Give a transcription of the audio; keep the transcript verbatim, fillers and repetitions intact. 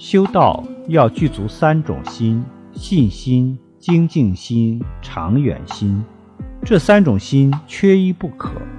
修道要具足三种心：信心、精进心、长远心。这三种心缺一不可。